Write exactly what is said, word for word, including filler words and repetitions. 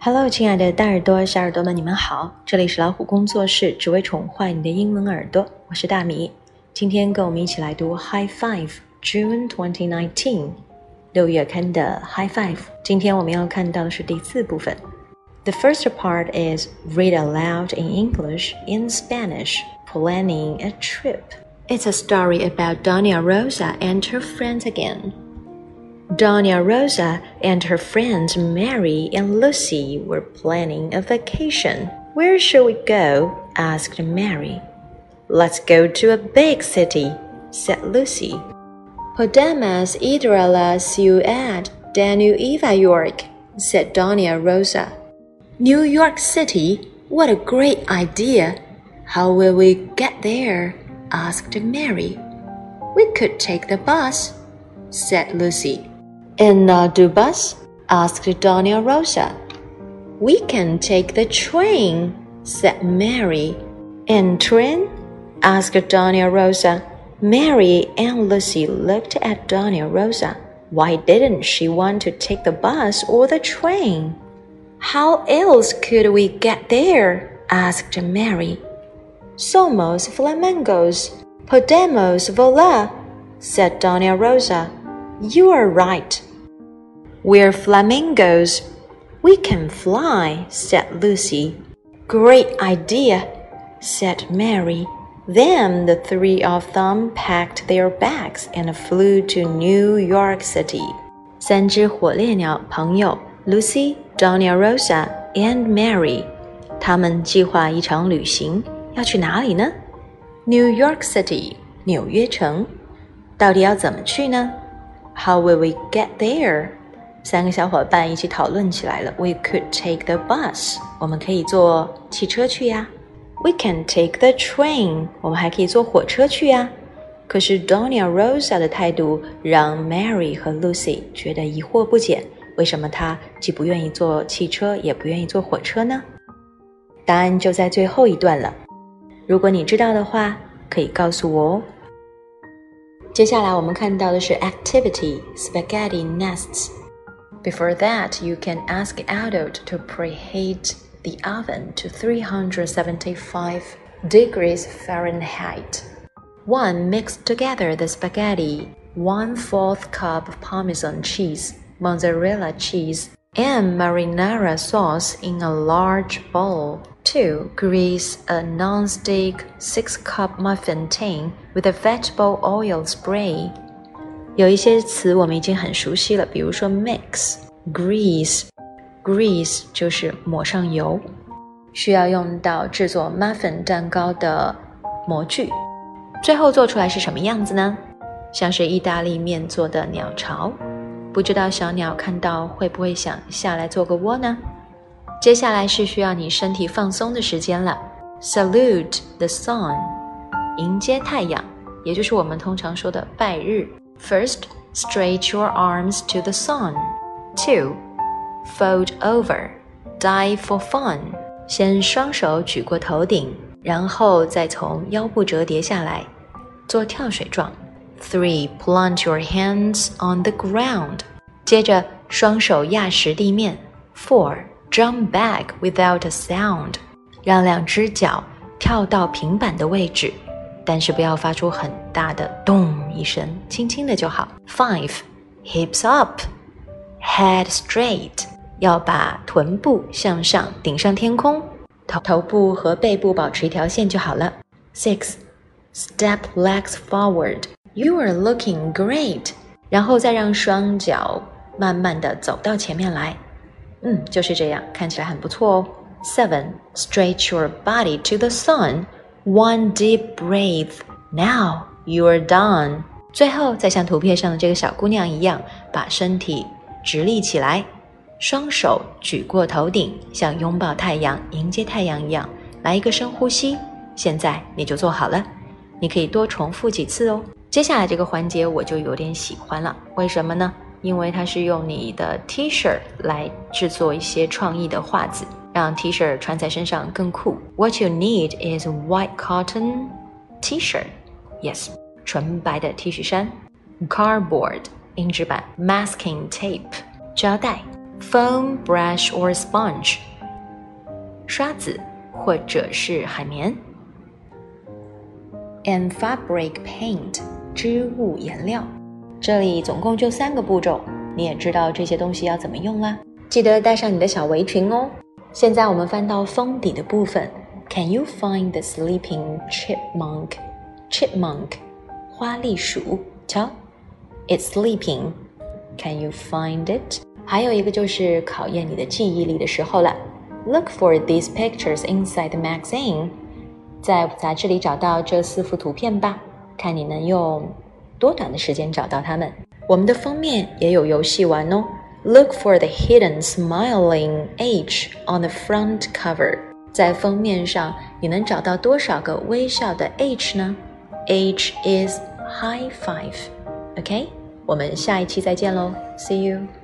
Hello， 亲爱的大耳朵、小耳朵们，你们好！这里是老虎工作室，只为宠坏你的英文耳朵。我是大米，今天跟我们一起来读 High Five June twenty nineteen 六月刊的 High Five。今天我们要看到的是第四部分。The first part is read aloud in English in Spanish, planning a trip. It's a story about Doña Rosa and her friends again.Doña Rosa and her friends Mary and Lucy were planning a vacation. Where shall we go? Asked Mary. Let's go to a big city, said Lucy. Podemos ir a la ciudad de Nueva York, said Doña Rosa. New York City? What a great idea! How will we get there? Asked Mary. We could take the bus, said Lucy.In a bus? Asked Doña Rosa. We can take the train, said Mary. In train? Asked Doña Rosa. Mary and Lucy looked at Doña Rosa. Why didn't she want to take the bus or the train? How else could we get there? Asked Mary. Somos flamingos. Podemos volar, said Doña Rosa.You are right. We're flamingos. We can fly, said Lucy. Great idea, said Mary. Then the three of them packed their bags and flew to New York City. 三只火烈鸟朋友 Lucy, Doña Rosa, and Mary. 他们计划一场旅行，要去哪里呢？ New York City, 纽约城。到底要怎么去呢？How will we get there? 三个小伙伴一起讨论起来了。We could take the bus. 我们可以坐汽车去呀。We can take the train. 我们还可以坐火车去呀。可是 Doña Rosa 的态度让 Mary 和 Lucy 觉得疑惑不解，为什么她既不愿意坐汽车，也不愿意坐火车呢？答案就在最后一段了。如果你知道的话，可以告诉我哦。接下来我们看到的是 Activity Spaghetti Nests. Before that, you can ask adult to preheat the oven to three hundred seventy-five degrees Fahrenheit. one. Mix together the spaghetti, one fourth cup of Parmesan cheese, mozzarella cheese, and marinara sauce in a large bowl.two. Grease a non-stick six-cup muffin tin with a vegetable oil spray. 有一些词我们已经很熟悉了，比如说 mix, grease. Grease 就是抹上油，需要用到制作 muffin 蛋糕的模具。最后做出来是什么样子呢？像是意大利面做的鸟巢。不知道小鸟看到会不会想下来做个窝呢？接下来是需要你身体放松的时间了。Salute the sun. 迎接太阳，也就是我们通常说的拜日。First, stretch your arms to the sun. Two, fold over. Dive for fun. 先双手举过头顶，然后再从腰部折叠下来，做跳水状。Three, plant your hands on the ground. 接着双手压实地面。Four, jump back without a sound. 让两只脚跳到平板的位置，但是不要发出很大的咚一声，轻轻的就好。Five, hips up. Head straight. 要把臀部向上，顶上天空，头头部和背部保持一条线就好了。Six, step legs forward.You are looking great. 然后再让双脚慢慢地走到前面来。嗯，就是这样，看起来很不错哦。Seven, stretch your body to the sun. One deep breath. Now you are done. 最后再像图片上的这个小姑娘一样，把身体直立起来，双手举过头顶，像拥抱太阳、迎接太阳一样，来一个深呼吸。现在你就做好了，你可以多重复几次哦。接下来这个环节我就有点喜欢了，为什么呢？因为它是用你的 T-shirt 来制作一些创意的画子，让 T-shirt 穿在身上更酷。What you need is a white cotton T-shirt. Yes, 纯白的 T 恤衫。Cardboard 硬纸板。Masking tape 胶带。 foam, brush or sponge 刷子或者是海绵。And fabric paint 织物颜料。这里总共就三个步骤，你也知道这些东西要怎么用啦。记得带上你的小围裙哦。现在我们翻到封底的部分 Can you find the sleeping chipmunk? Chipmunk 花栗鼠，瞧 It's sleeping. Can you find it? 还有一个就是考验你的记忆力的时候了。Look for these pictures inside the magazine. 在杂志里找到这四幅图片吧，看你能用多短的时间找到它们。我们的封面也有游戏玩哦。Look for the hidden smiling H on the front cover. 在封面上，你能找到多少个微笑的 H 呢？ H is high five. OK? 我们下一期再见喽 See you.